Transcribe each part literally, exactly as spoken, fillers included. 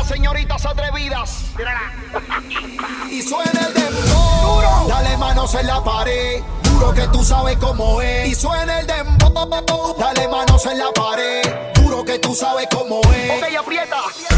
las señoritas atrevidas. Y suena el dembow, dale manos en la pared, juro que tú sabes cómo es. Y suena el dembow, dale manos en la pared, juro que tú sabes cómo es. Ok, aprieta.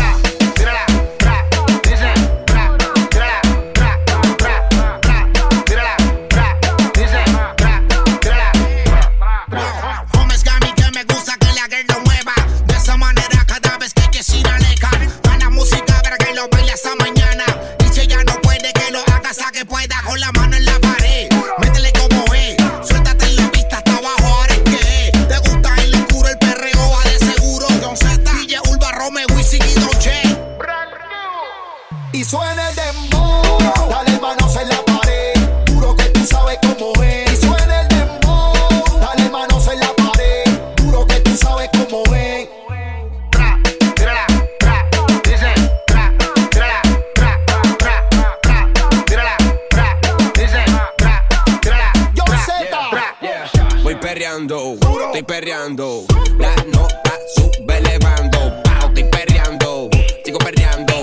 Y suena el dembow, dale manos en la pared, juro que tú sabes cómo es. Y suena el dembow, dale manos en la pared, juro que tú sabes cómo es. Tra, tírala, tra, dice, tra, tírala, tra, tra, tra, tírala, tra, dice, tra, tírala. Yo Z. Voy perreando, estoy perreando, la nota sube elevando, pao, estoy perreando, sigo perreando.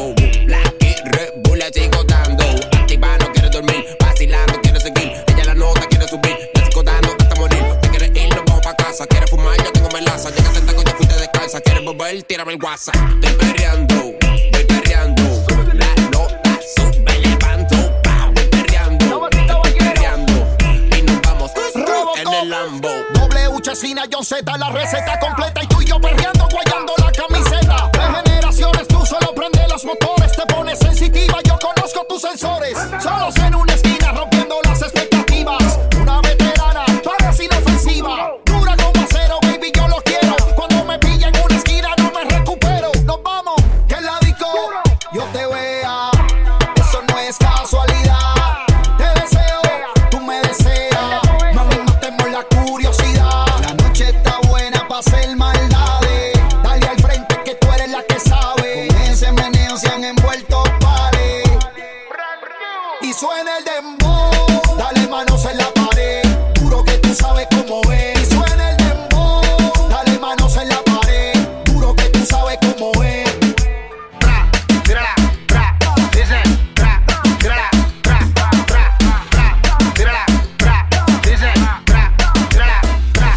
Sigo dando, activa, no quiere dormir, vacilando, quiere seguir, ella la nota quiere subir, le sigo dando hasta morir, te quiere ir, nos vamos pa' casa, quiere fumar, yo tengo melaza, llega tenta con ya fuiste descalza, quiere volver, tírame el WhatsApp, estoy perreando, voy perreando, la nota sube, levanto, pa, voy perreando, estoy perreando, y nos vamos en el Lambo. W Chesina, John Z, la receta completa y tú y yo perreando, guayando la camiseta. De generaciones tú solo prende los motores, te pones sensitiva, yo conozco tus sensores. Solos en una esquina rompiendo las expectativas. Una veterana, parece inofensiva. Dura como acero, baby, yo lo quiero. Cuando me pilla en una esquina no me recupero. Nos vamos, que en la disco yo te vea. Eso no es casualidad. Te deseo, tú me deseas. Mami, matemos la curiosidad. La noche está buena pa' hacer maldades. Dale al frente que tú eres la que sabe. Con ese meneo se han envuelto pares. Y suena el dembow, dale manos en la pared, juro que tú sabes cómo es. Y suena el dembow, dale manos en la pared, juro que tú sabes cómo es. Tra, tírala, tra, dice, tra, tírala, tra, tra, tra, tírala, tra, dice, tra, tírala, tra,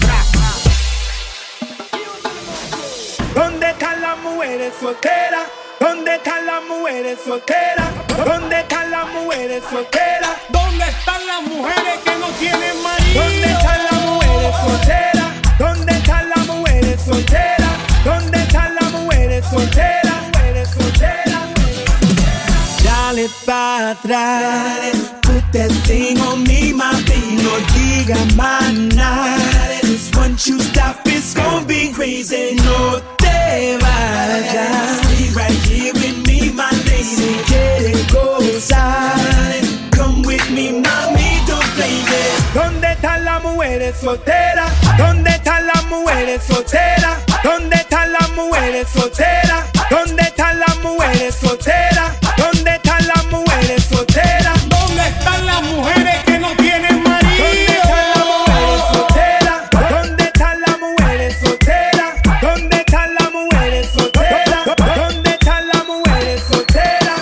tra. ¿Dónde están las mujeres solteras? ¿Dónde están las mujeres solteras? ¿Dónde están las mujeres solteras? ¿Dónde están las mujeres que no tienen marido? ¿Dónde están las mujeres solteras? ¿Dónde están las mujeres solteras? ¿Dónde están las mujeres solteras? Mujeres solteras. Dale para atrás, put that thing on me, mami, no diga más nada. Cause once you stop, it's gonna be crazy. No te vayas, stay right here with me, my lady. Si quieres gozar, come with me, mami, don't play it. ¿Dónde están las mujeres solteras? ¿Dónde están las mujeres solteras? ¿Dónde están las mujeres solteras? ¿Dónde están las mujeres solteras? ¿Dónde están las mujeres solteras? ¿Dónde están las mujeres que no tienen marido? ¿Dónde están las mujeres solteras? ¿Dónde están las mujeres solteras? ¿Dónde están las mujeres solteras? ¿Dónde están las mujeres solteras?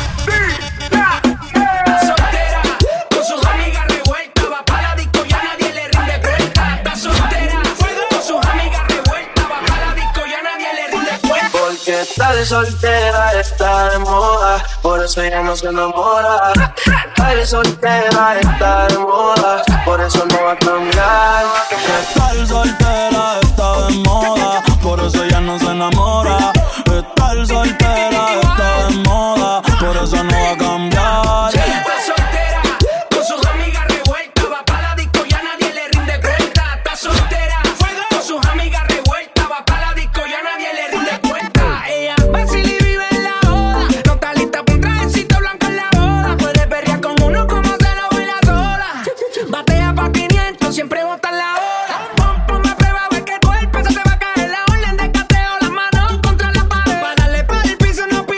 Soltera, con sus amigas revueltas, va pa' la disco y a nadie le rinde cuenta. Está soltera, con sus amigas revueltas, va pa' la disco y a nadie le rinde cuenta. Porque estar soltera está de moda, por eso ella no se enamora. Estar soltera está de moda, por eso no va a cambiar. Estar soltera está de moda, por eso ella no se enamora. Estar soltera está de moda, por eso no va a cambiar. Está soltera, con sus amigas revueltas, va pa' la disco y a nadie le rinde cuenta. Está soltera, con sus amigas revueltas, va pa' la disco y a nadie le rinde cuenta. Ella vacila y vive en la joda, no está lista pa' un trajecito blanco en la boda. Puede perrear con uno como se lo baila sola. Batea pa' quinientos, siempre bota en la hora. Pon, ponme a prueba, a ver que el cuerpo se te va a caer. La orden de cateo, las manos contra la pared. Pa' darle pa' el piso no pide.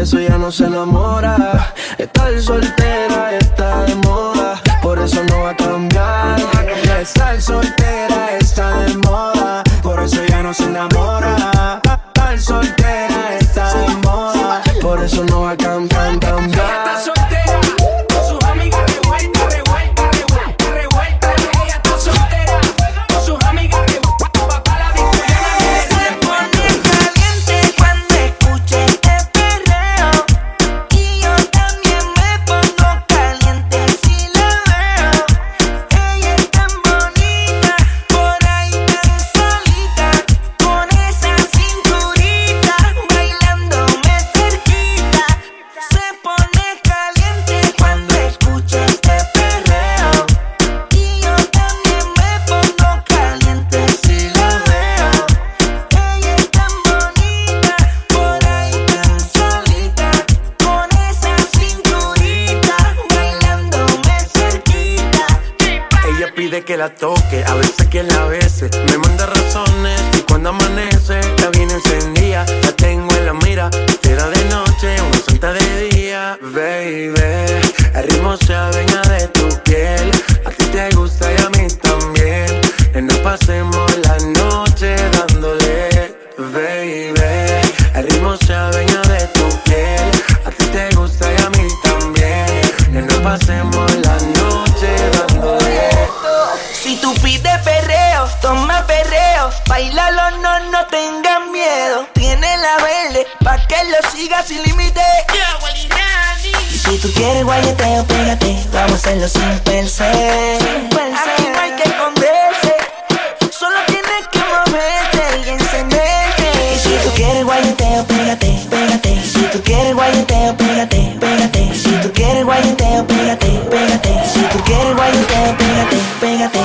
eso ya no se enamora. Estar soltera está de moda, por eso no va a cambiar. Estar soltera está de moda, por eso ya no se enamora. Estar soltera está de moda, por eso no va a cambiar, cambiar. Ella está soltera, con sus amigas revuelta, revuelta, revuelta, revuelta. Ella está soltera, con sus amigas revuelta. Papá la disco ya nadie le Se pone caliente cuando escucha este perreo, y yo también me pongo caliente si la veo. Ella es tan bonita, por ahí tan solita, con esa cinturita, bailándome cerquita. Se pone caliente cuando escucha este perreo, y yo también me pongo caliente si la veo. Ella es tan bonita, por ahí tan solita, con esa cinturita, bailándome cerquita. Ella pide que la toque, a veces que la bese. Me manda razones y cuando amanece la viene encendida. La tengo en la mira, fiera de noche, una santa de día. Baby, el ritmo se adueña de tu piel. A ti te gusta y a mí también. Que no pasemos la noche dándole. Baby, el ritmo se adueña de tu piel. A ti te gusta y a mí también. Que no pasemos la noche dándole. Si tú pides perreo, toma perreo, bailalo, no, no tengas miedo. Tiene la verde, pa' que lo sigas sin límite. Y si tú quieres guayeteo, pégate, vamos a hacerlo sin pensar. Aquí no hay que esconderse, solo tienes que moverte y encenderte. Y si tú quieres guayeteo, pégate, pégate. Y si tú quieres guayeteo, pégate, pégate. Y si tú quieres guayeteo, pégate, pégate. Y si tú quieres guayeteo, pégate, pégate.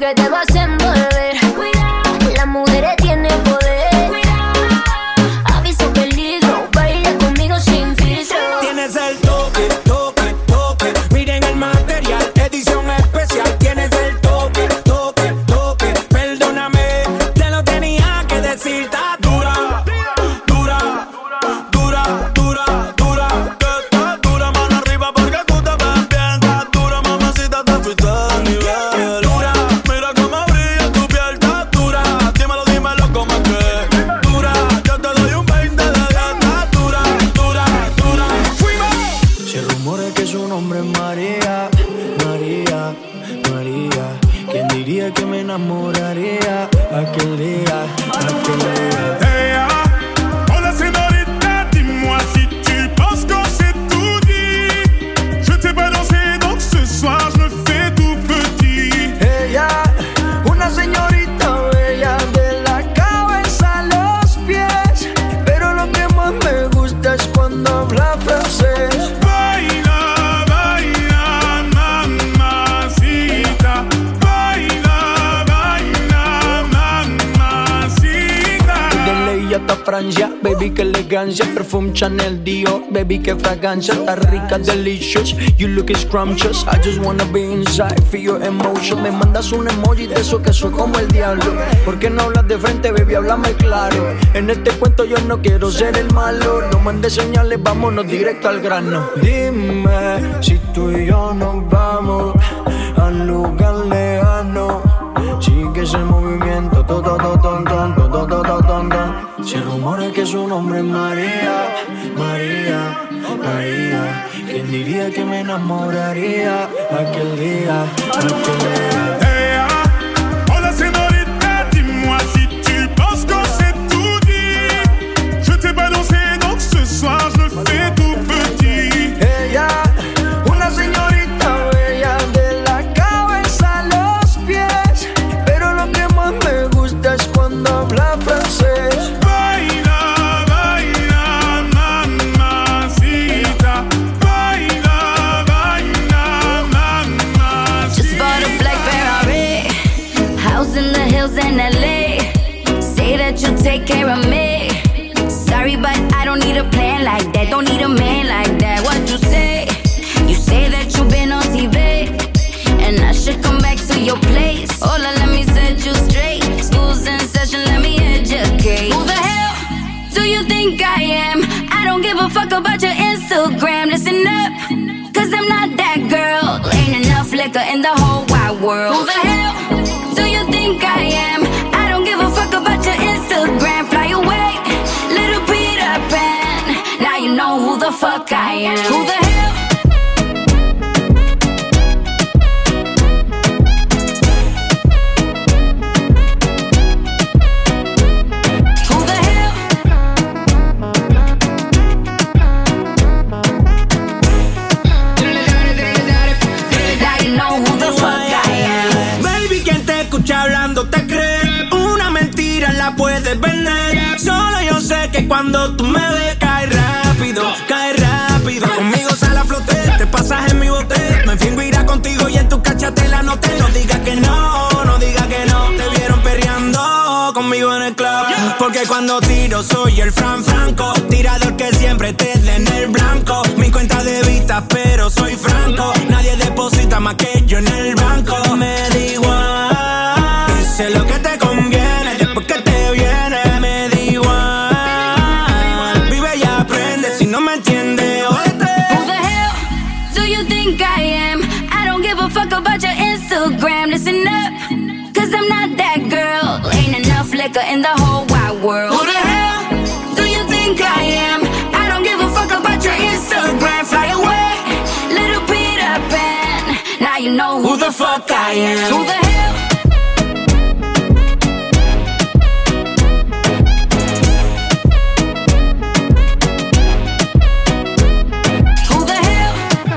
que te vas a envolver. Cuidado, las mujeres tienen poder. Cuidado, aviso peligro, baila conmigo sin filtro. Tienes el toque, toque, toque. Miren el material, edición especial. Tienes el toque, toque, toque. Perdóname, te lo tenía que decir. Está dura, dura, dura, dura, dura. Que está dura, mano arriba porque tú te ves bien. Está dura, mamacita, te fuiste del nivel. Dura, mira cómo brilla tu piel. Está dura, dímelo, dímelo cómo es que dura. Yo te doy un veinte de diez. Está dura, dura, dura. Fuimos. Si el rumor es que su nombre es María, María, María. ¿Quién diría que me enamoraría aquel día, aquel día? Hey, ah, hola señorita, dis-moi si tu penses que c'est tout dit. Je t'ai pas dansé, donc ce soir je me fais tout petit. Ella, una señorita bella de la cabeza a los pies. Pero lo que más me gusta es cuando habla francés. Baila, baila, mamacita. Baila, baila, mamacita. De ley hasta Francia, baby, que elegancia. Perfume Chanel Dior, baby, que fragancia. Está rica, delicious, you look scrumptious. I just wanna be inside, feel your emotion. Me mandas un emoji de eso que soy como el diablo. ¿Por qué no hablas de frente, baby? Háblame claro. En este cuento yo no quiero ser el malo. No mandes señales, vámonos directo al grano. Dime si tú y yo nos vamos al lugar lejano. Sigue ese movimiento, to, to, to, ton, ton, to, to, to, to, ton, ton. Si el rumor es que su nombre es María, María, María. ¿Quién diría que me enamoraría aquel día, aquel día? Hey, ah, hola señorita, dis-moi si tu penses que c'est tout dit. Je t'ai pas dansé, donc ce soir je me fais tout petit. Ella, una señorita bella de la cabeza a los pies. Pero lo que más me gusta es cuando habla francés. Baila, baila, mamacita. Baila, baila, mamacita. Just bought a black Ferrari, house in the hills in L A. Say that you take care of me. Sorry, but I don't need a plan like that. Don't need a man like that. What you say? You say that you've been on T V, and I should come back to your place. Hola, let me set you straight. School's in session, let me educate. Who the hell do you think I am? I don't give a fuck about your Instagram. Listen up, cause I'm not that girl. Ain't enough liquor in the whole wide world. Who the hell do you think I am? I don't give a fuck about your Instagram. Fly away, little Peter Pan. Now you know who the fuck I am. Who the hell? Who the hell? Now you know who the fuck I am. Baby, quien te escucha hablando te cree. Una mentira la puedes vender. Solo yo sé que cuando tú me ves cae rápido, cae rápido. Conmigo sale a flote, te pasas en mi bote. Me fingo irá contigo y en tu cachate la noté. No digas que no, no digas que no. Te vieron perreando conmigo en el club. Porque cuando tiro soy el Fran Franco, tirador que siempre te dé en el blanco. Mi cuenta de vista pero soy franco. Nadie deposita más que yo en el banco. Me da igual, hice lo que te conviene. Después que te viene, me da igual. Vive y aprende, si no me entiendes, óyete. Who the hell do you think I am? I don't give a fuck about your Instagram. Listen up, cause I'm not that girl. Ain't enough liquor in the whole wide world. Who the hell do you think I am? I don't give a fuck about your Instagram. Fly away, little Peter Pan. Now you know who, Who the fuck I am? Who the hell? Who the hell?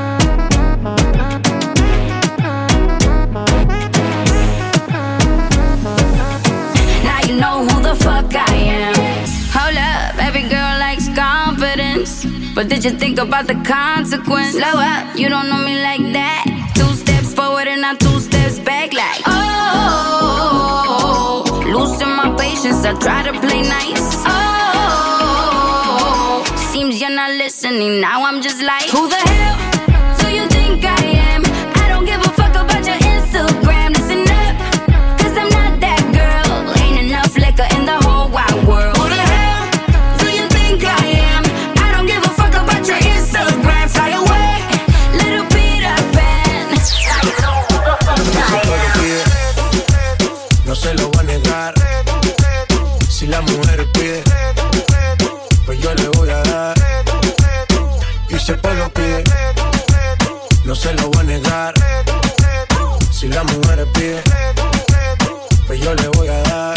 Now you know who the fuck I am. Hold up, every girl likes confidence, but did you think about the consequence? Slow up, you don't know me like that. Two steps forward and not two steps back like, oh. try to play nice. Oh, seems you're not listening. Now I'm just like, who the hell do you think I am? I don't give a fuck about your Instagram. Listen up, cause I'm not that girl. Ain't enough liquor in the whole wide world. Who the hell do you think I am? I don't give a fuck about your Instagram. Fly away, little Peter Pan. No se lo voy a negar. Si la mujer pide, pues yo le voy a dar. Y si el pueblo pide, no se lo voy a negar. Si la mujer pide, pues yo le voy a dar.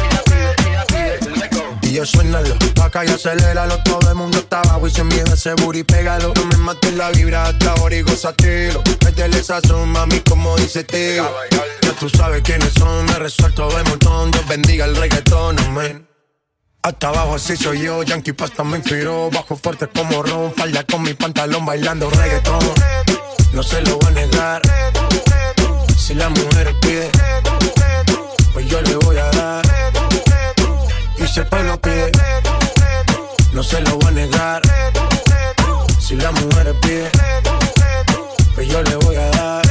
Y yo suénalo, pa' acá y aceléralo. Todo el mundo está abajo y sin miedo ese booty pégalo. No me mates la vibra hasta ahora y gozatelo. Métele sazón, mami, como dice tío. Ya tú sabes quiénes son, me resuelto de montón. Dios bendiga el reggaetón, amén. Hasta abajo así soy yo, Yankee Pasta me inspiró. Bajo fuerte como ron, falda con mi pantalón bailando reggaetón. No se lo voy a negar. Si la mujer pide, pues yo le voy a dar. Y si el pueblo pide, no se lo voy a negar. Si la mujer pide, pues yo le voy a dar.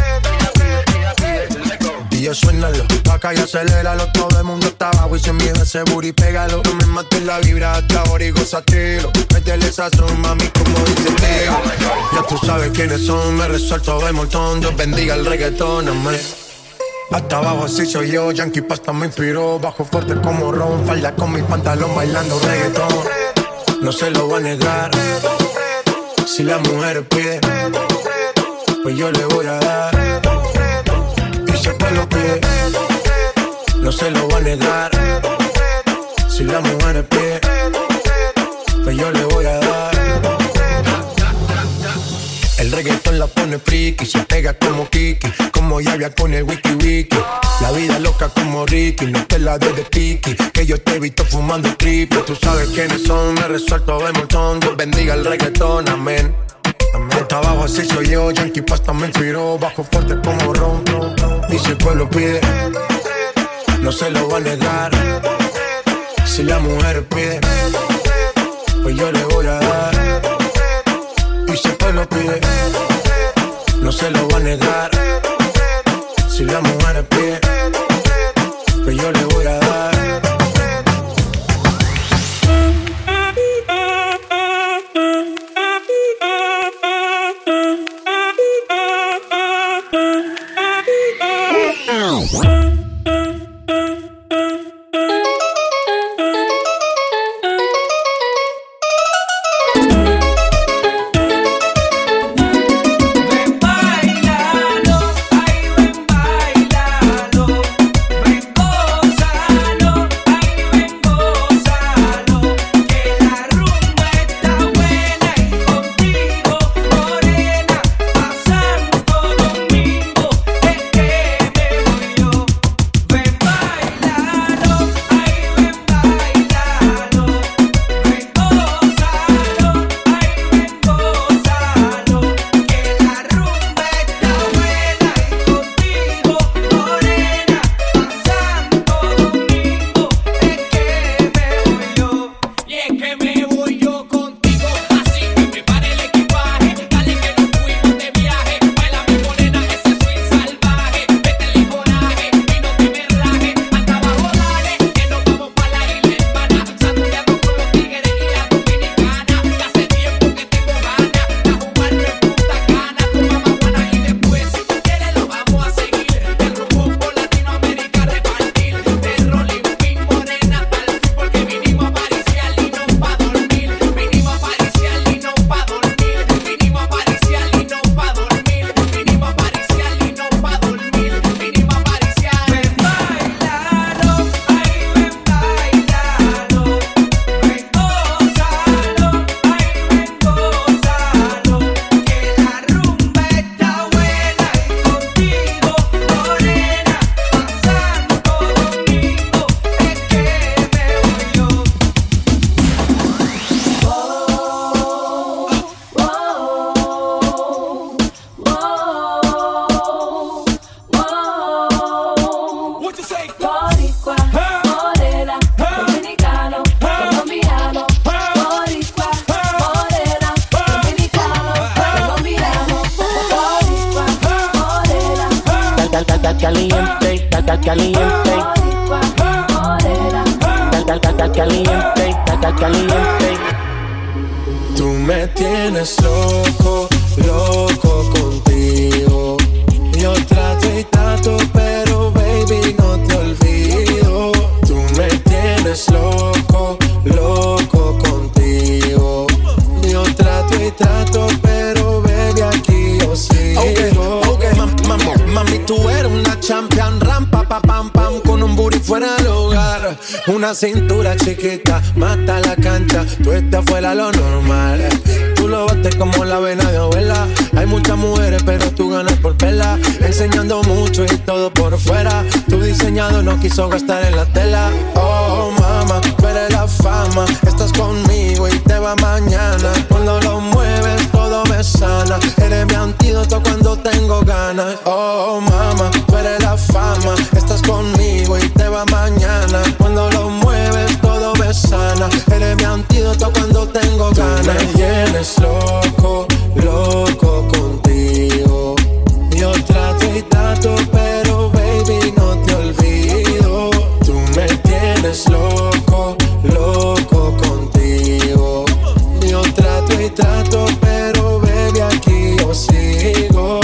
Y yo suénalo, pa' acá y aceléralo. Todo el mundo está abajo y sin miedo ese booty pégalo. No me mates la vibra hasta ahora y gozatelo. Métele sazón, mami, como dice tío. Ya tú sabes quiénes son, me resuelto de montón. Dios bendiga el reggaetón, amén. Hasta abajo así soy yo, Yankee Pasta me inspiró. Bajo fuerte como ron, falda con mi pantalón bailando reggaetón. No se lo voy a negar. Si la mujer pide, pues yo le voy a dar. Y si el pueblo pide, no se lo voy a negar. Si la mujer pide, pues yo le voy a dar. El reggaetón la pone friki, se pega como Kiki, como Yavia con el wiki wiki. La vida loca como Ricky, no te la des de piqui, que yo te he visto fumando triple. Tú sabes quiénes son, me resuelto de montón. Dios bendiga el reggaetón, amén. Hasta abajo así soy yo, Yankee Pasta me inspiró. Bajo fuerte como ron, y si el pueblo pide, no se lo voy a negar. Si la mujer pide, pues yo le voy a dar. Y si el pueblo pide, no se lo voy a negar. Si la mujer pide, pues yo le voy a dar. caliente, caliente, caliente. Tú me tienes loco, loco contigo. Yo trato y trato, pero baby no te olvido. Tú me tienes loco, loco contigo. Yo trato y trato, pero baby aquí yo sigo. Okay, okay. Mam, mam, mami, tú eres una champion, ram, pa, pa, pam, pam, con un booty fuera del hogar. Una cintura chiquita, mata la cancha, tú estás fuera lo normal. Tú lo bates como la vena de abuela. Hay muchas mujeres, pero tú ganas por verla. Enseñando mucho y todo por fuera. Tu diseñado no quiso gastar en la tela. Oh, mama, tú eres la fama. Estás conmigo y te va mañana. Cuando lo mueves, todo me sana. Eres mi antídoto cuando tengo ganas. Oh, mama, tú eres la fama. Estás conmigo y te va mañana. Cuando lo mueves, todo me sana. Eres mi antídoto cuando tengo ganas. Tú me tienes loco, loco contigo. Yo trato y trato, pero baby no te olvido. Tú me tienes loco, loco contigo. Yo trato y trato, pero baby aquí yo sigo.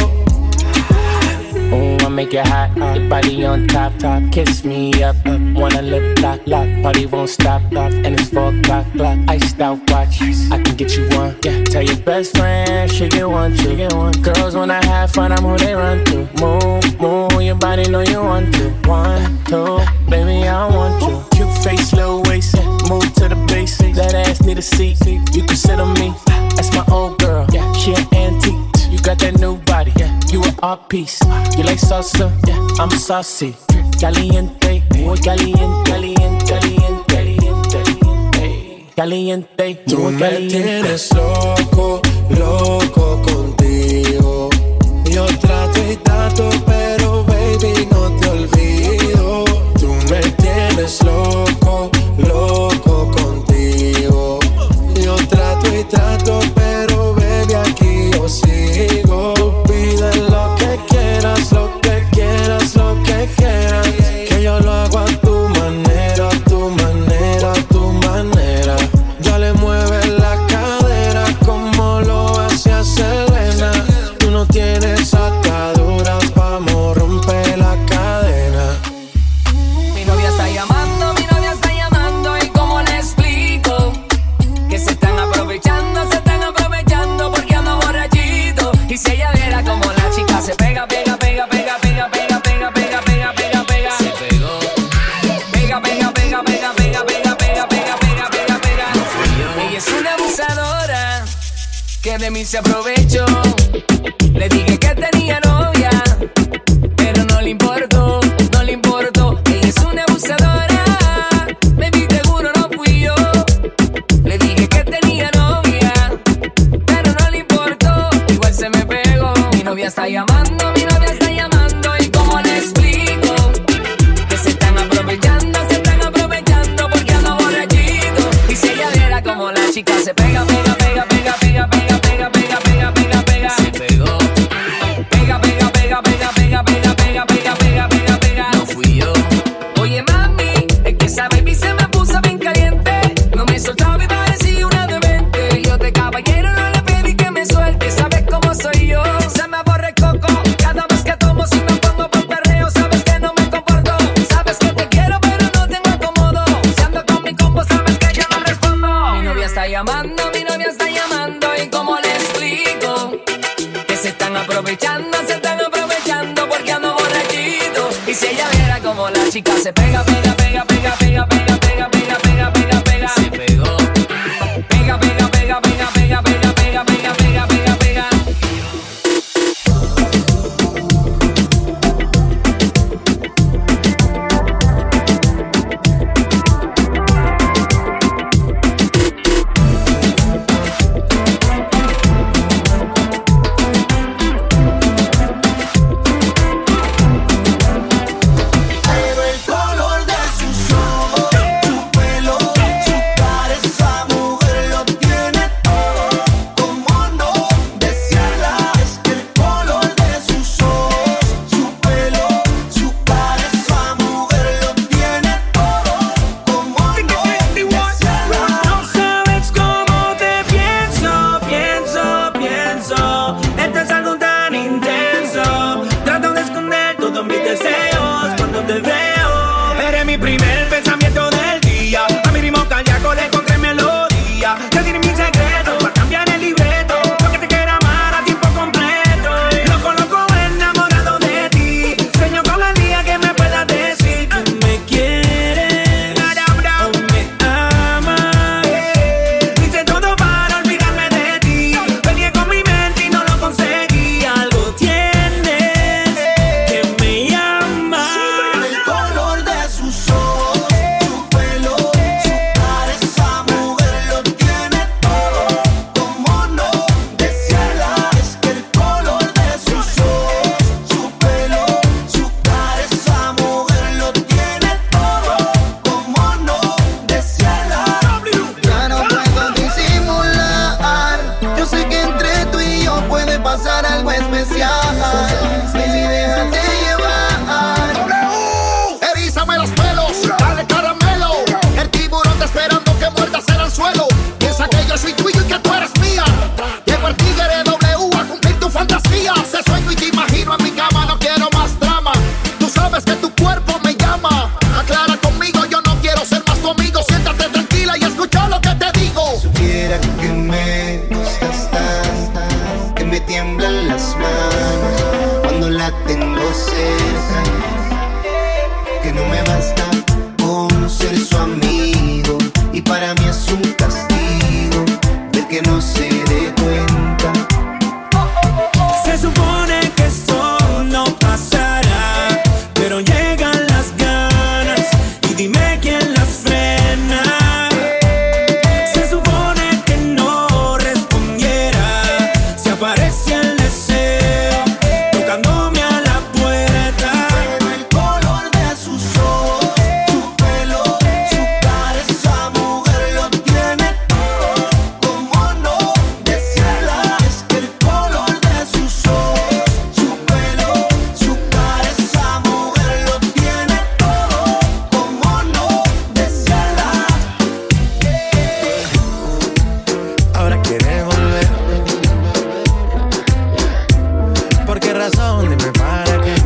Oh, I make it hot, your body on top, top. Kiss me up, up. Wanna lip lock, lock. Party won't stop, stop. And it's four o'clock, clock. Iced out watch, I can get you one. Yeah, tell your best friend she get one, she get one. Girls when I have fun, I'm who they run to. Move, move, your body know you want to. One, two, baby I want you. Cute face, little waist, move to the basics. That ass need a seat, you can sit on me. That's my old girl, yeah, she an antique. You got that new body, yeah, you an art piece. You like salsa, yeah, I'm saucy. Caliente, muy caliente, caliente, caliente, caliente, caliente. Tú me tienes loco, loco contigo. Yo trato y trato, pero baby no te olvido. Tú me tienes loco, loco contigo. Yo trato y trato, pero baby aquí yo sigo. Tú pides lo que quieras, lo que quieras, lo que quieras. Que yo lo hago a tu manera, a tu manera, a tu manera. Dale, mueve la cadera como lo hacía Selena. Tú no tienes ataduras, vamos a romper la cadena. Mi novia está llamando, mi novia está llamando. ¿Y cómo le explico? Que se están aprovechando, se están aprovechando porque ando borrachito. Y si ella viera como la chica se pega, pega, pega, pega, pega, pega, pega, pega, pega, pega, pega. Se pegó. Pega, pega, pega, pega, pega, pega, pega, pega, pega, pega, pega. Ella es una abusadora que de mí se aprovechó. Le dije que tenía novia, pero no le importó, no le importó. Ella es una abusadora, me vi seguro no fui yo. Le dije que tenía novia, pero no le importó, igual se me pegó. Mi novia está llamando, mi novia está llamando. ¿Y cómo le explico? Que se están aprovechando, se están aprovechando porque ando borrachito. Y si ella viera como la chica se pega, pega, pega, pega, pega, pega, pega, pega, pega, pega, pega. Se pegó. Pega, pega, pega, pega, pega, pega, pega, pega, pega, pega, pega. No fui yo. Oye mami, es que esa baby se me puso bien caliente. No me soltaba y parecía una demente. Yo de caballero no le pedí que me suelte. Sabes cómo soy yo, se me aborre coco. Cada vez que tomo si me pongo por perreo. Sabes que no me comporto. Sabes que te quiero pero no tengo acomodo. Si ando con mi combo sabes que yo no respondo. Mi novia está llamando, mi novia está llamando. ¿Y cómo le explico? Que se están aprovechando, se están aprovechando porque ando borrachito. Y si ella viera como la chica se pega, pega, pega, pega, pega, pega, pega, pega, pega, pega, pega. Se pegó. Pega, pega, pega, pega, pega, pega, pega, pega, pega, pega, pega. Pero el color de sus ojos sabes que tu cuerpo me llama. Aclara conmigo, yo no quiero ser más tu amigo. Siéntate tranquila y escucha lo que te digo. Supiera que me gustas tanto, que me tiemblan las manos cuando la tengo cerca, que no me basta con ser su amigo, y para mí es un castigo ver que no se dé cuenta. Se supone que esto no pasará, pero llegan las ganas y dime quién las frena. Se supone que no respondiera si aparece el deseo tocándome a la puerta. Pero el color de sus ojos, su pelo, su cara, esa mujer lo tiene todo. ¿Cómo no decirla? Es que el color de sus ojos, su pelo, su cara, esa mujer lo tiene todo. ¿Cómo no decirla? Ahora quiere volver. ¿Por qué razón? Dime para qué.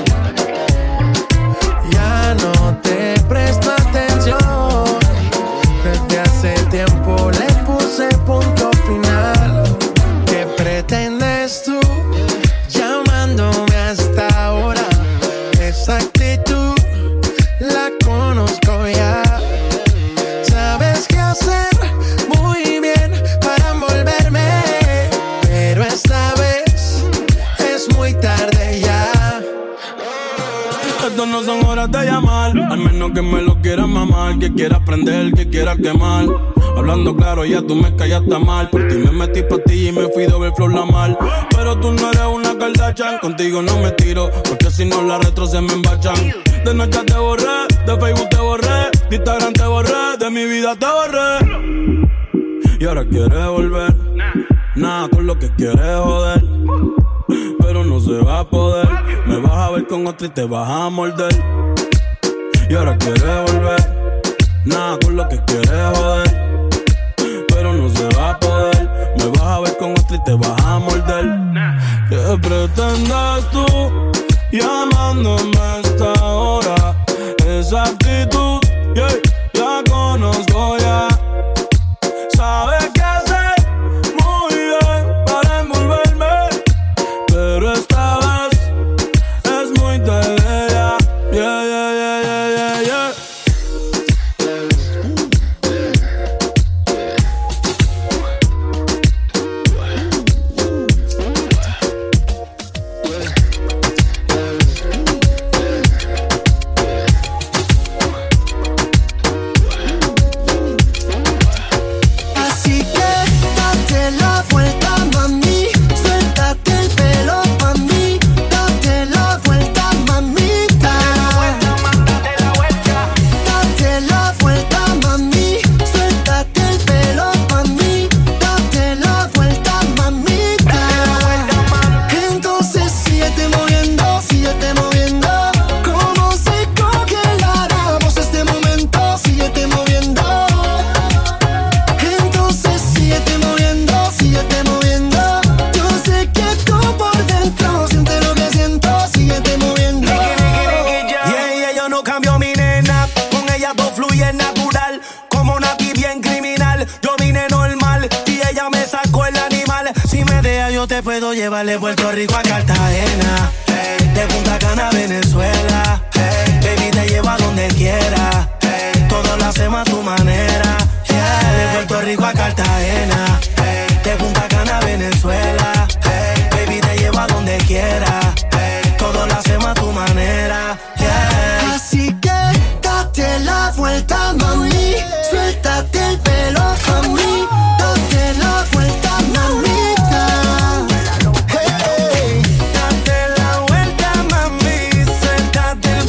Ya no te presto atención. Desde hace tiempo le puse punto final. ¿Qué pretendes tú llamándome hasta ahora? Esa actitud la conozco ya. Sabes qué hacer muy bien para envolverme, pero esta vez es muy tarde ya. Esto no son horas de llamar, al menos que me lo quieras mamar, que quieras prender, que quieras quemar. Hablando claro, ya tú me callaste mal. Por ti me metí pastilla y me fui de overflow la mal. Pero tú no eres una Kardashian, contigo no me tiro, porque si no las retro se me embachan. De noche te borré, de Facebook te borré, de Instagram te borré, de mi vida te borré. Y ahora quieres volver, nada con lo que quieres joder, pero no se va a poder. Me vas a ver con otra y te vas a morder. Y ahora quieres volver, nada con lo que quieres joder, pero no se va a poder. Me vas a ver con otra y te vas a morder. ¿Qué pretendes tú llamándome a esta hora? Esa actitud, yeah, la conozco ya. Sabes qué hacer muy bien para envolverme, pero esta vez es muy tarde ya. Yeah, yeah, yeah, yeah, yeah, yeah. Así que date la vuelta, mami, suéltate el pelo pa' mí, date la vuelta, mamita. Date la vuelta, mami, suéltate el pelo pa' mí, date la vuelta, mamita. Entonces síguete moviendo, síguete moviendo, como si congeláramos este momento, síguete moviendo. Entonces síguete moviendo, síguete moviendo. Yo sé que tú por dentro sientes lo que siento, síguete moviendo. Yeah, yeah, yo no cambio mi nena, con ella todo fluye natural, como Nati bien criminal. Yo vine normal y ella me sacó el animal. Si me deja yo te puedo llevar de Puerto Rico a Cartagena, hey, de Punta Cana a Venezuela, hey, baby te llevo a donde quiera, hey, todo lo hacemos a tu manera, yeah, de Puerto Rico a Cartagena, hey, de Punta Cana a Venezuela, hey, baby te llevo a donde quiera, hey, todo lo hacemos a tu manera, yeah. Así que date la vuelta, mami, suéltate el pelo pa' mí, date la vuelta, mamita. Hey. Date la vuelta, mami, suéltate el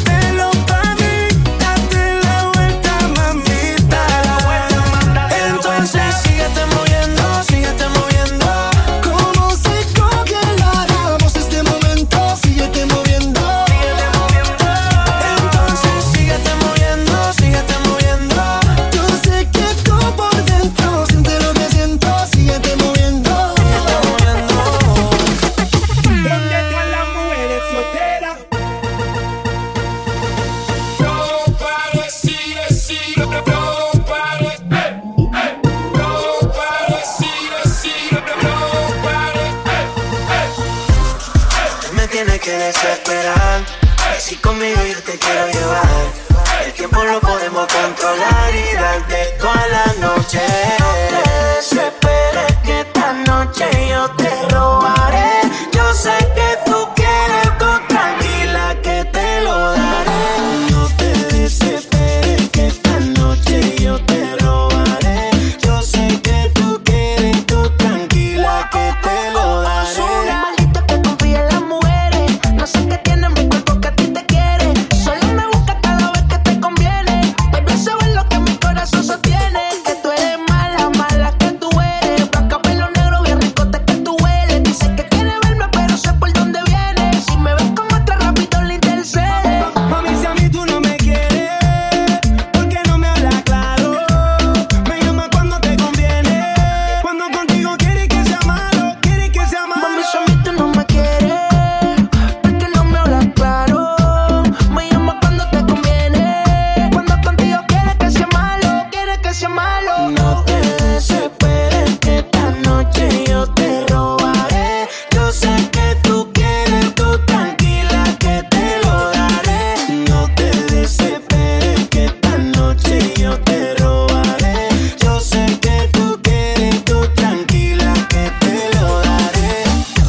esperar. Si conmigo yo te quiero llevar, el tiempo lo podemos controlar y darte toda la noche. No te desesperes que esta noche yo te robaré. Yo sé que tú quieres, tú tranquila que te lo daré. No te desesperes que esta noche yo te robaré. Yo sé que tú quieres, tú tranquila que te lo daré. Soy un maldito que confía en las mujeres. No sé qué tiene mi cuerpo que a ti te quiere. Solo me busca cada vez que te conviene. Baby, eso es lo que mi corazón sostiene. Que tú eres mala, mala que tú eres. Blanca, pelo negro, bien ricote que tú hueles. Dice que quiere verme, pero sé por dónde viene. Si me ves con otra, rápido le intercede. Mami, si a mí tú no me quieres, ¿por qué no me hablas claro? Me llama cuando te conviene. Cuando contigo quieres que sea malo, quieres que sea malo. Mami, si a mí tú no me quieres, ¿por qué no me hablas claro? Me llamas cuando te conviene. Cuando contigo quieres que sea malo, quieres que sea malo. No te desesperes que esta noche yo te robaré. Yo sé que tú quieres, tú tranquila que te lo daré. No te desesperes que esta noche yo te robaré. Yo sé que tú quieres, tú tranquila que te lo daré.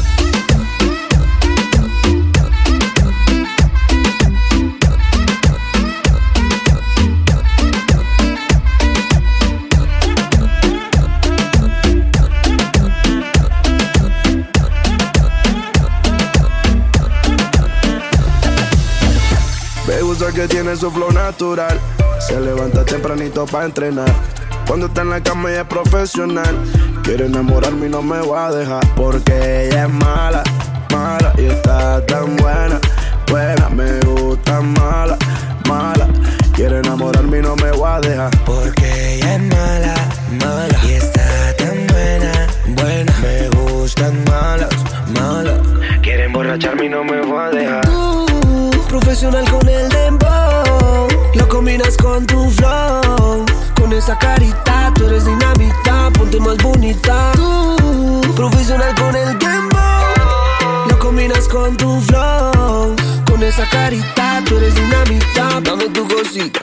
Me gusta que tiene su flow natural. Se levanta tempranito pa' entrenar. Cuando está en la cama ella es profesional. Quiere enamorarme y no me va a dejar. Porque ella es mala, mala. Y está tan buena, buena. Me gusta mala, mala. Quiere enamorarme y no me va a dejar. Porque ella es mala, mala. Y está tan buena, buena. Me gustan malas, malas. Quiere emborracharme y no me va a dejar. Tú, profesional con el dembow, lo combinas con tu flow. Con esa carita, tú eres dinamita, ponte más bonita. Tú, profesional con el dembow, lo combinas con tu flow. Con esa carita, tú eres dinamita, dame tu cosita.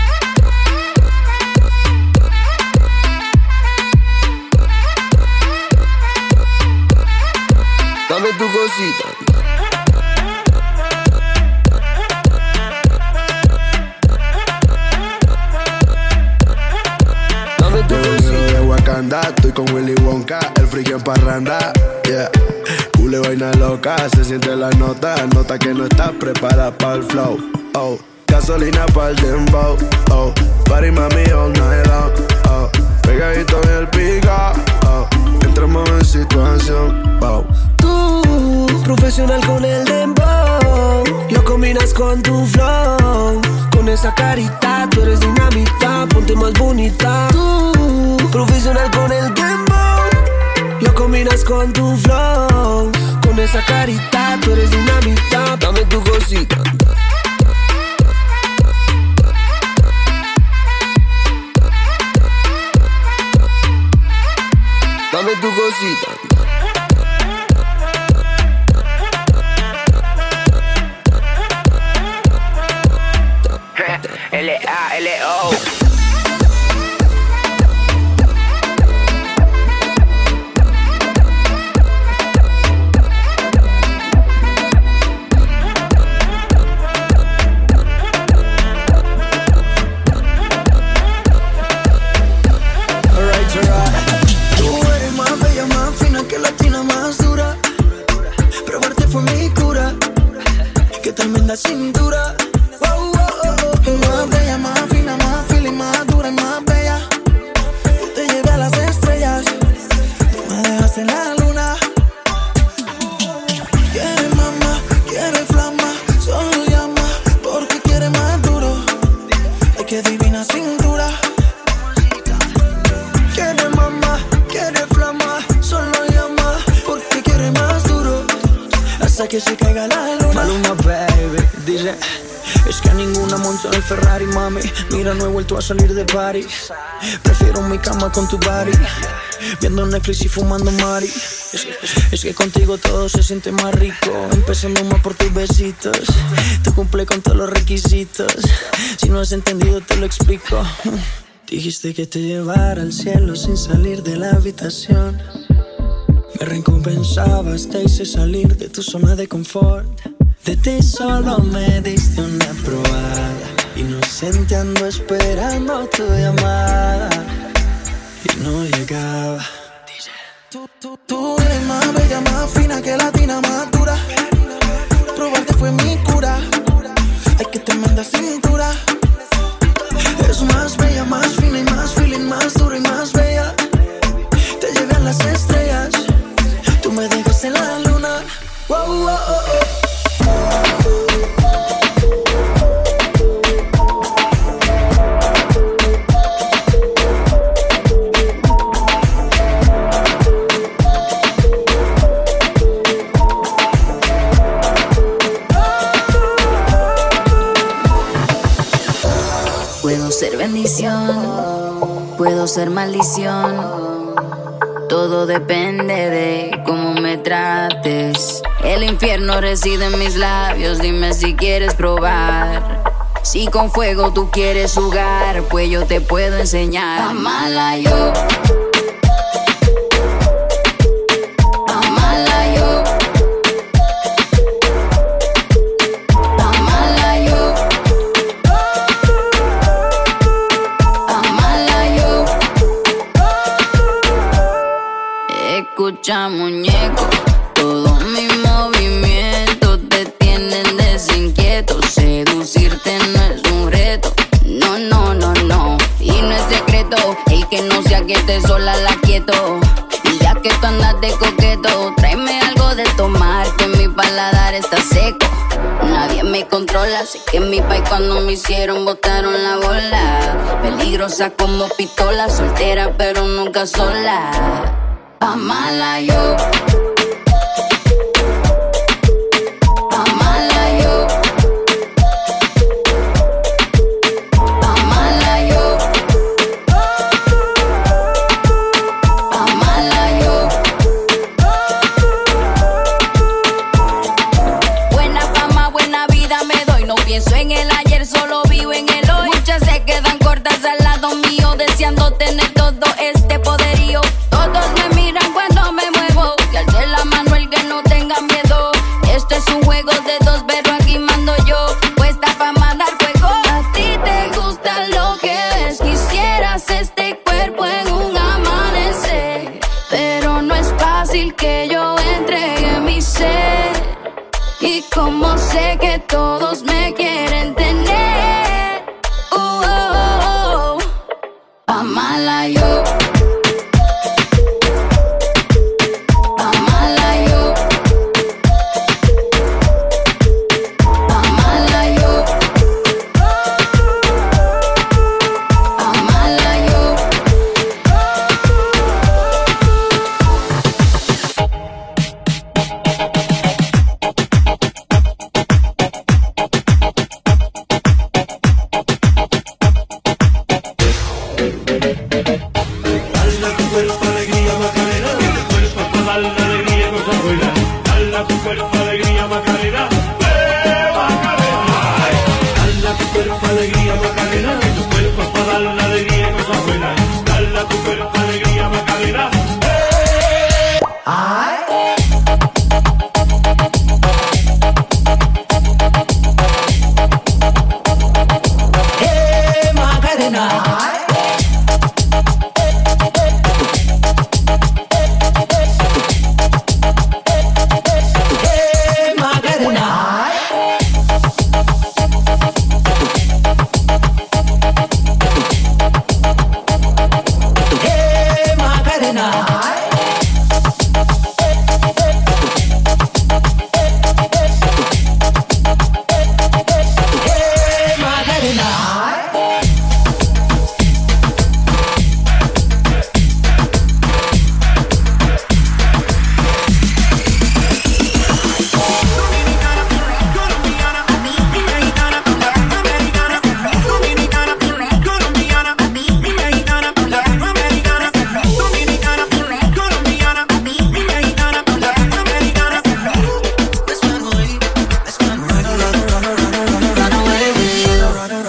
Dame tu cosita. Dame tu cosita. De Wakanda, estoy con Willy Wonka, el friki en parranda, yeah. Cule vaina loca, se siente la nota, nota que no estás preparada para el flow, oh. Gasolina pa'l dembow, oh. Party mami all night long, oh. Pegadito en el pica, oh. Entramos en situación, wow. Tú, profesional con el dembow, lo combinas con tu flow. Con esa carita, tú eres dinamita, ponte más bonita. Tú, profesional con el dembow, lo combinas con tu flow. Con esa carita, tú eres dinamita, dame tu cosita. Dame tu cosita. L A L O. Tremenda cintura, oh, oh, oh, oh. Más bella, más fina, más feeling, más dura y más bella. Yo te llevé a las estrellas, tú me dejaste en la luna. Quiere mamá, quiere flama, solo llama porque quiere más duro. Ay, qué divina cintura. Quiere mamá, quiere flama, solo llama porque quiere más duro. Hasta que se caiga la luna. Maluma, baby, dice: es que a ninguna monto en el Ferrari, mami. Mira, no he vuelto a salir de party. Prefiero mi cama con tu body. viendo Netflix y fumando mari. Es que, es que contigo todo se siente más rico, empezando más por tus besitos. Tú cumple con todos los requisitos, si no has entendido te lo explico. Dijiste que te llevara al cielo sin salir de la habitación. Me recompensabas, te hice salir de tu zona de confort. De ti solo me diste una probada, inocente ando esperando tu llamada y no llegaba. Tú, tú, tú eres más bella, más fina que latina, más dura. Probarte fue mi cura. Hay que te manda cintura. Es más bella, más fina y más feeling, más dura y más bella. Te llevé a las estrellas, tú me dejas en la luna. Wow, wow, oh, oh. Ser bendición, puedo ser maldición. Todo depende de cómo me trates. El infierno reside en mis labios, dime si quieres probar. Si con fuego tú quieres jugar, pues yo te puedo enseñar. Amala yo. Escucha, muñeco, todos mis movimientos te tienen desinquieto. Seducirte no es un reto, no, no, no, no. Y no es secreto, el que no sea que te sola la quieto. Y ya que tú andas de coqueto, tráeme algo de tomar, que mi paladar está seco. Nadie me controla, sé que en mi país cuando me hicieron botaron la bola. Peligrosa como pistola, soltera pero nunca sola. Amala yo. Amala yo. Amala yo. Amala yo. Buena fama, buena vida me doy. No pienso en el ayer, solo vivo en el hoy. Muchas se quedan cortas al lado mío, deseando tener todo este poderío. Todos me miran cuando me muevo, y alce la mano el que no tenga miedo. Esto es un juego de dos, pero aquí mando yo, puesta pa' mandar fuego. A ti te gusta lo que ves, quisieras este cuerpo en un amanecer, pero no es fácil que yo entregue mi ser. Y como sé que todos me quieren tener, uh, oh, oh, oh. Amala yo.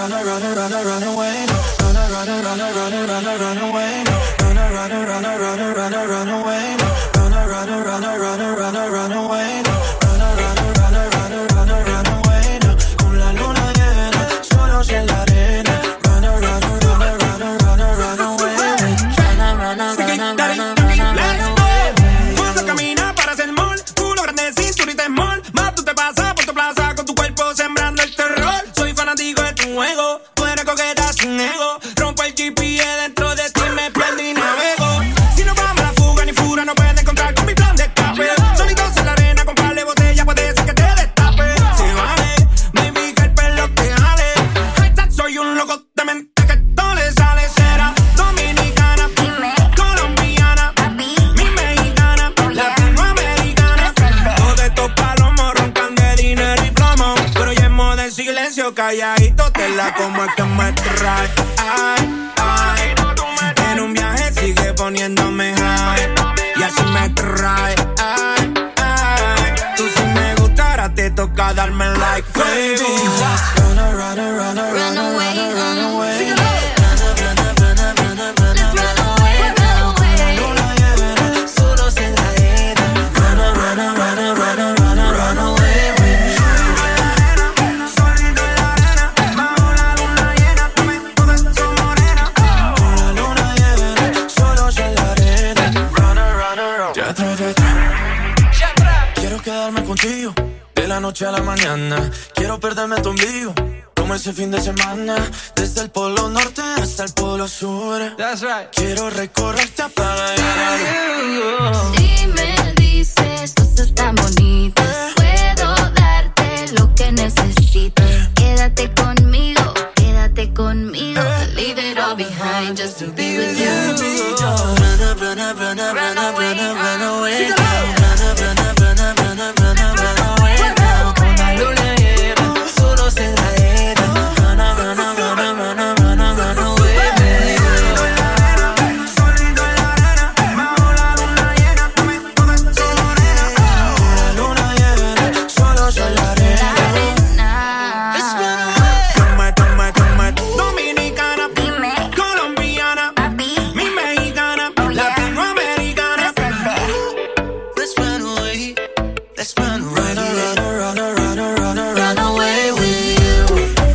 run, run, run, run, run away. Run, run, run, run, run, run, run away. Run, run, run, run, run, run, run away. Run, run, run, run, run, run away. Run, run, run, run, run, run away. Con la luna llena, solos en la arena. Run, run, run, run, run, run away. Run, run, run, run, run, run away. Cuando camina para hacer mall, culo grande, cinturita small. Más tú te pasas por tu plaza con tu cuerpo sembrando el terror. Soy fanático de tu juego, tú eres coqueta sin ego. Rompo el G P S dentro de ti, me pierdo y navego. Si no vamos a la fuga ni fura, no puedes encontrar con mi plan de escape. Solitos en la arena con par de botella, puede ser que te destape. Si vale, baby, que el pelo te jale. Hashtag soy un loco de mente que todo le sale. Será dominicana, colombiana, mi mexicana, latinoamericana. Todos estos palomos roncan de dinero y plomo, pero yo en modo en silencio, calladito te la como es que me trae. Ay, ay, en un viaje sigue poniéndome high y así me trae. Ay, ay, tú si me gustara te toca darme like, baby. Run, run, run, run away, run away. Solos en la arena. Run, run, run, run, run, run away. Quiero quedarme contigo de la noche a la mañana. Quiero perderme tu ombligo como ese fin de semana. Desde el polo norte hasta el polo sur. That's right. Quiero recorrerte a pagar. Si me dices cosas tan bonitas, puedo darte lo que necesitas. Quédate conmigo, quédate conmigo. Leave it all behind just to be with you. Run up, run up, run up, run up, run up, run away. Run up, run up, run up, run up, run up, run away. Con la luna llena, solos en la arena. Run up, run up, run up, run up, run up, run away. Solito en la arena, bajo la luna llena, dame toda esa morena. Con la luna llena, solos en la arena. Let's run away. Toma, toma, toma, dominicana, colombiana, mi mexicana, latinoamericana. Let's run away. Let's run away. Run, run, run, run, run, run, run away with you.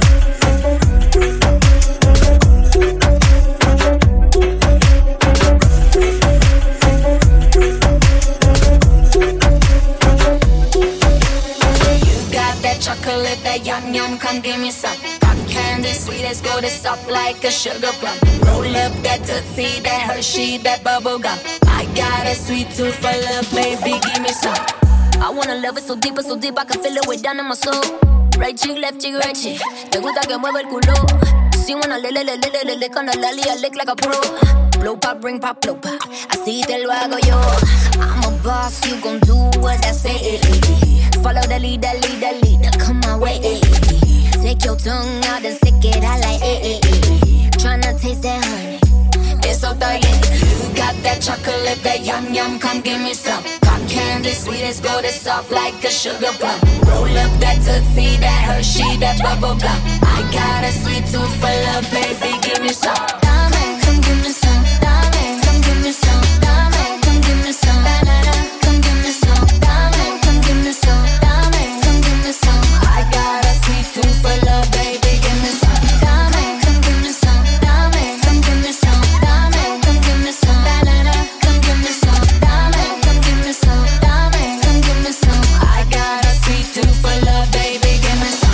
You got that chocolate, that yum yum, come give me some. Cotton candy, sweet as gold, it's soft like a sugar plum. Roll up that Tootsie, that Hershey, that bubble gum. I got a sweet tooth for love, baby, give me some. I wanna love it so deep, so deep, I can feel it way down in my soul. Right cheek, left cheek, right cheek. Te gusta que mueva el culo. Si wanna le le le le le le le con la lali, I lick like a pro. Blow pop, bring pop, blow pop. Así te lo hago yo. I'm a boss, you gon' do what I say. Follow the leader, leader, leader, come my way. Take your tongue out and stick it out like eh, eh, eh. Tryna taste that honey, it's so thirsty. You got that chocolate, that yum yum, come give me some. Cotton candy, sweet as gold, it's soft like a sugar plum. Roll up that Tootsie, that Hershey, that bubble gum. I got a sweet tooth for love, baby, give me some. Dame, come give me some. Dame, come give me some. Dame, come give me some. Banana, come give me some. Dame, come give me some. Dame, come give me some. I got a sweet tooth for love, baby, give me some. Dame, come give me some. Dame, come give me some. Dame, come give me some. Banana, come give me some. Dame, come give me some. Dame, come give me some. I got a sweet tooth for love, baby, give me some.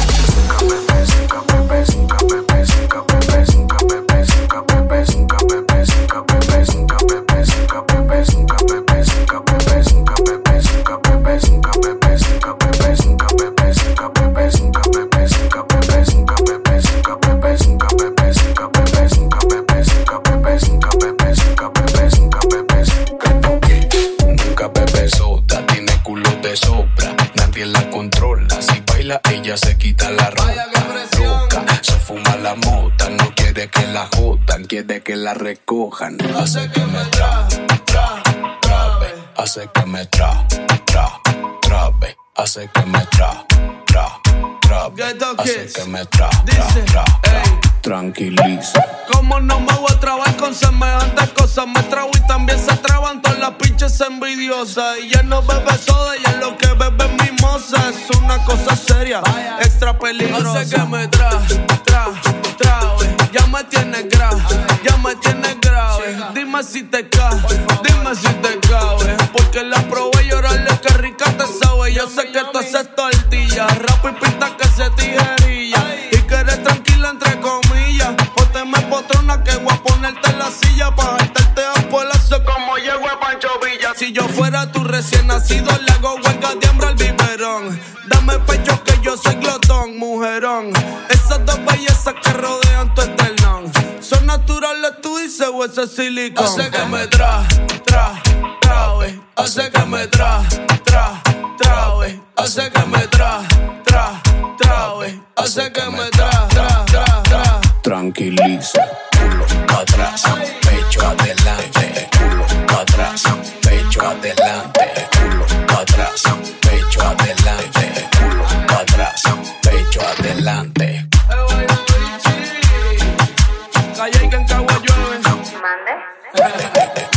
Nunca bebe soda, tiene culo de sobra, nadie la controla. Si baila, ella se quita la ropa. Loca, se fuma la mota, no quiere que la jodan, quiere que la recojan. Hace que me tra, tra, trabe, hace que me tra, tra, trabe, hace que me tra, tra, trabe, hace que me tra, tra, tra, tra. tranquiliza. Como no me voy a trabar con semejantes cosas, me trago y también se traban todas las pinches envidiosas. Y ya no bebe soda, ya lo que bebe es mimosa. Es una cosa seria, extra peligrosa. Hace que me tra, tra, trae. Ya me tienes grave, ya me tienes grave. Dime si te cae, dime si te cabe. Porque la probé y llorarle que rica te sabe. Yo sé que tú haces tortilla, rap y pinta que se tijerilla. Y que eres tranquila entre comillas. Ponte me potrona que voy a ponerte en la silla. Pa' jaltarte a polazo como llego a Pancho Villa. Si yo fuera tu recién nacido, le hago huelga de hambre al biberón. Dame pecho que yo soy glotón, mujerón. Esas dos bellezas que rodean tu esternón son naturales, tú dices, o ese silicón. Hace que me tra, tra, trae. Hace que me tra, tra, trae. Hace que me tra, tra, trae. Hace que me tra, tra, tra, tra. Tranquiliza, culo pa' atrás, pecho adelante, culo pa' atrás, pecho adelante, culo pa' atrás, pecho adelante, culo pa' atrás, pecho adelante. Calla y que en Cagua llueve. Mande.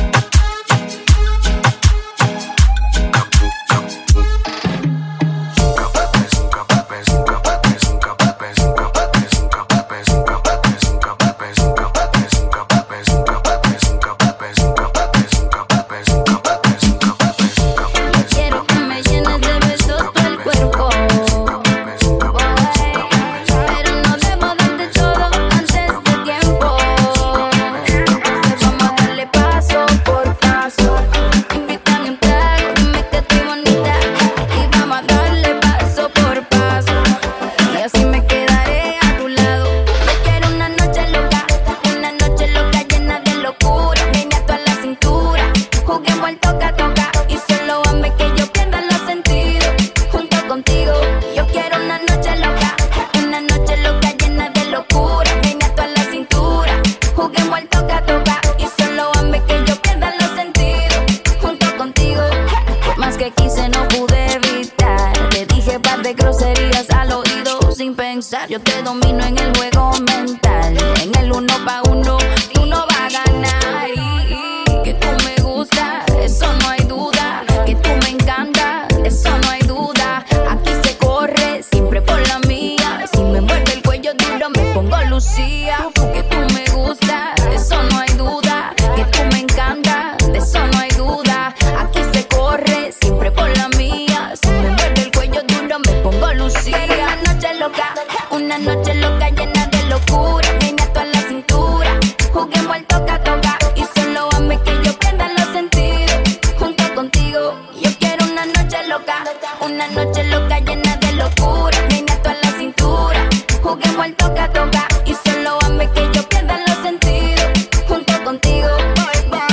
Yo te domino en el juego mental. En el uno pa' uno, tú no vas a ganar. Y que tú me gustas, eso no hay duda. Que tú me encantas, eso no hay duda. Aquí se corre, siempre por la mía. Si me muerde el cuello duro, me pongo Lucía. Que tú me gustas, eso no hay duda. Que tú me encantas, de eso no hay duda. Aquí se corre, siempre por la mía. Si me muerde el cuello duro, me pongo Lucía. Una noche loca, una noche loca llena de locura. Venga toda la cintura, juguemos al toca toca. Y solo hazme que yo pierda los sentidos. Junto contigo, yo quiero una noche loca. Una noche loca llena de locura. Venga toda la cintura, juguemos al toca toca. Y solo hazme que yo pierda los sentidos. Junto contigo, bye bye.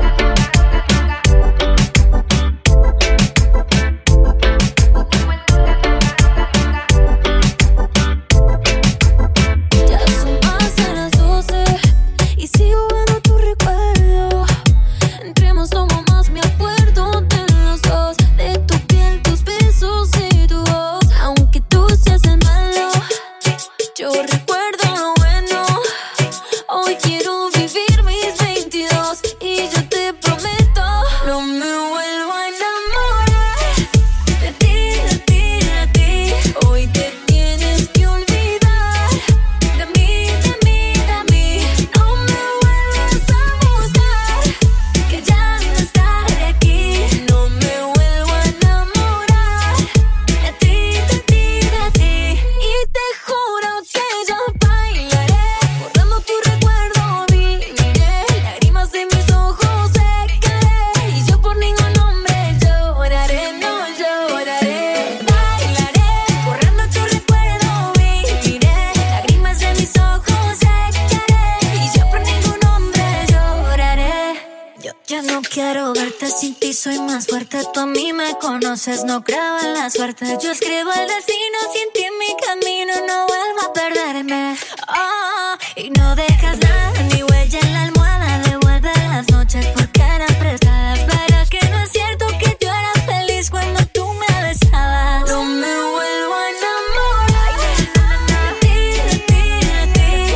No creo en la suerte, yo escribo el destino. Si en ti en mi camino no vuelvo a perderme. Oh, y no dejas nada, ni huella en la almohada. Devuelve las noches porque eran prestadas. Verás que no es cierto que yo era feliz cuando tú me besabas. No me vuelvo a enamorar de ti, de ti, de ti.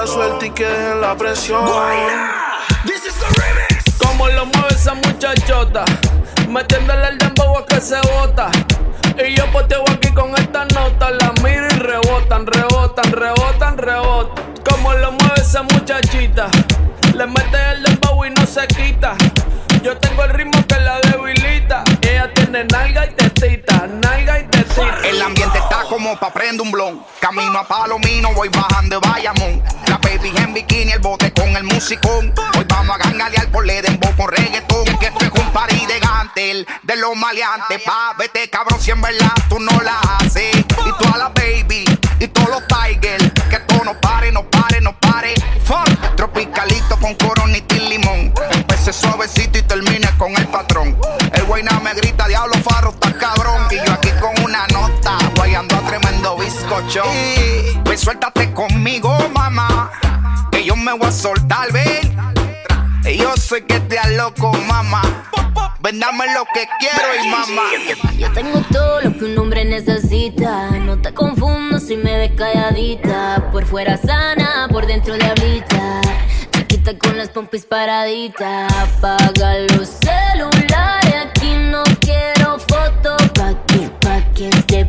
la suerte y que dejen la presión. This is the remix. Como lo mueve esa muchachota, metiéndole el dembow a que se bota. Y yo poteo aquí con esta nota, la miro y rebotan, rebotan, rebotan, rebotan. Como lo mueve esa muchachita, le mete el dembow y no se quita. Yo tengo el ritmo que la debilita. Ella tiene nalga y tetita, nalga y tetita. El ambiente está como pa' prender un blon. Camino a Palomino, voy bajando de Bayamón. La baby en bikini, el bote con el musicón. Hoy vamos a gangalear por le dembow con reggaetón. Es que esto es un party de gantel, de los maleantes. Pa' vete cabrón, si en verdad tú no la haces. Y toda la baby, y todos los tigers. Que todo no pare, no pare, no pare. Fuck, tropicalito con coronita y limón. Empecé suavecito y termine con el patrón. El guayna me grita, diablo farro, está cabrón. Y yo aquí con una nota, guayando a tremendo bizcocho. Y pues suéltate conmigo, mamá, que yo me voy a soltar, ven. Y yo sé que te loco, mamá. Ven, dame lo que quiero y mamá. Yo tengo todo lo que un hombre necesita. No te confundo si me ves calladita. Por fuera sana, por dentro diablita. Chiquita con las pompis paraditas. Apaga los celulares, aquí no quiero fotos. Pa' que, pa' que este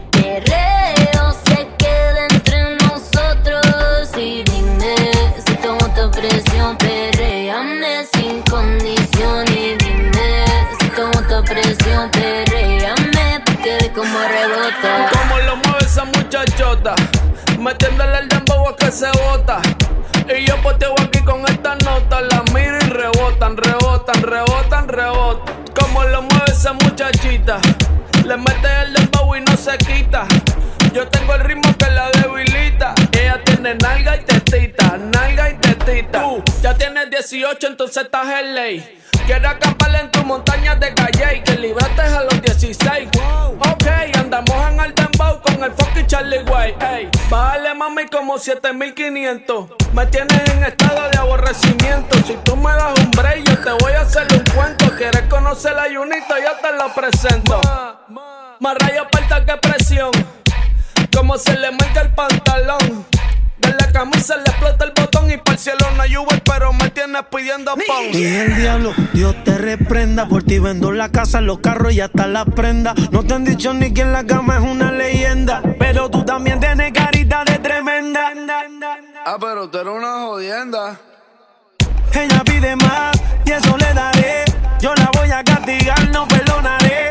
perreo se quede entre nosotros. Y dime si tomo esta presión, perréame sin condición. Y dime si tomo esta presión, perréame pa' que ve como rebota. Como lo mueve esa muchachota, metiéndole el dembow a que se bota. Y yo poteo aquí con esta nota, la miro y rebotan, rebotan, rebotan, rebotan. Como lo mueve esa muchachita, le mete el dembow y no se quita. Yo tengo el ritmo que la debilita. Ella tiene nalga y tetita, nalga y tetita. Tú ya tienes dieciocho, entonces estás en ley. Quiero acampar en tu montaña de calle y que libraste a los dieciséis. Ok, andamos en el dembow con el fucking Charlie Way. Ey, bájale mami como siete mil quinientos. Me tienes en estado de aborrecimiento. Si tú me das un break, yo te voy a hacer un cuento. ¿Quieres conocer la Junito? Yo te lo presento. Más rayo parta que presión. Como se le marca el pantalón. De la camisa le explota el botón y para el cielo no hay Uber, pero me tienes pidiendo pon. Y el diablo, Dios te reprenda. Por ti vendo la casa, los carros y hasta la prenda. No te han dicho ni que en la cama es una leyenda, pero tú también tienes carita de tremenda. Ah, pero tú eres una jodienda. Ella pide más y eso le daré. Yo la voy a castigar, no perdonaré.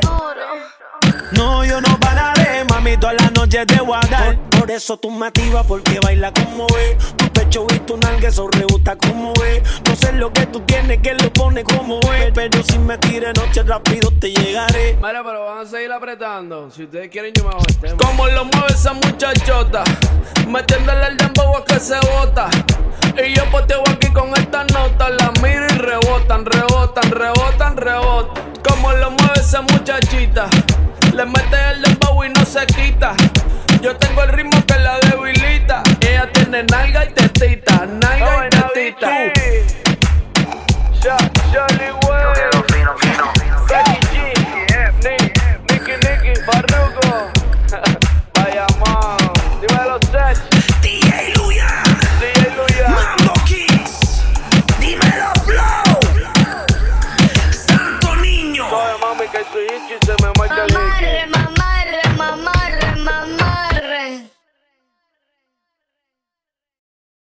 No, yo no pararé, mami, toda la noche te voy a dar. Por, por eso tú me activas, porque baila como ve. Tu pecho y tu nalga, eso rebota como ve. No sé lo que tú tienes, que lo pone como ve. Pero si me tires noche rápido te llegaré. Mira, pero van a seguir apretando. Si ustedes quieren yo me hago el tema. Como lo mueve esa muchachota, metiéndole el dembow a que se bota. Y yo poteo aquí con esta nota, la miro y rebotan, rebotan, rebotan, rebotan. Como lo mueve esa muchachita, le mete el dembow y no se quita. Yo tengo el ritmo que la debilita. Ella tiene nalga y tetita, nalga y tetita. Charlie Way.